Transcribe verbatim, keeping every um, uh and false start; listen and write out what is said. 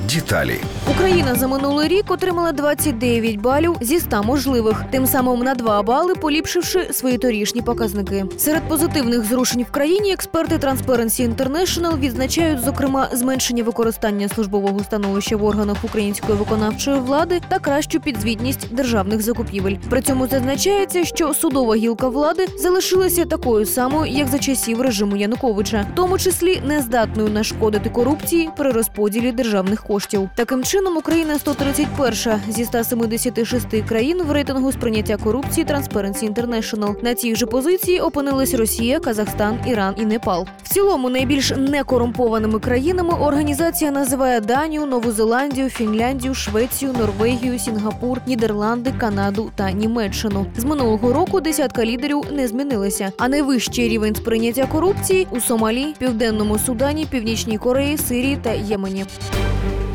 Деталі. Україна за минулий рік отримала двадцять дев'ять балів зі ста можливих, тим самим на два бали поліпшивши свої торішні показники. Серед позитивних зрушень в країні експерти Transparency International відзначають, зокрема, зменшення використання службового становища в органах української виконавчої влади та кращу підзвітність державних закупівель. При цьому зазначається, що судова гілка влади залишилася такою самою, як за часів режиму Януковича, в тому числі нездатною нашкодити корупції при розподілі державних коштів. Таким чином, Україна сто тридцять перша зі ста семидесяти шести країн в рейтингу сприйняття корупції Transparency International. На цій же позиції опинились Росія, Казахстан, Іран і Непал. В цілому найбільш некорумпованими країнами організація називає Данію, Нову Зеландію, Фінляндію, Швецію, Норвегію, Сінгапур, Нідерланди, Канаду та Німеччину. З минулого року десятка лідерів не змінилася, а найвищий рівень сприйняття корупції у Сомалі, Південному Судані, Північній Кореї, Сирії та Ємені.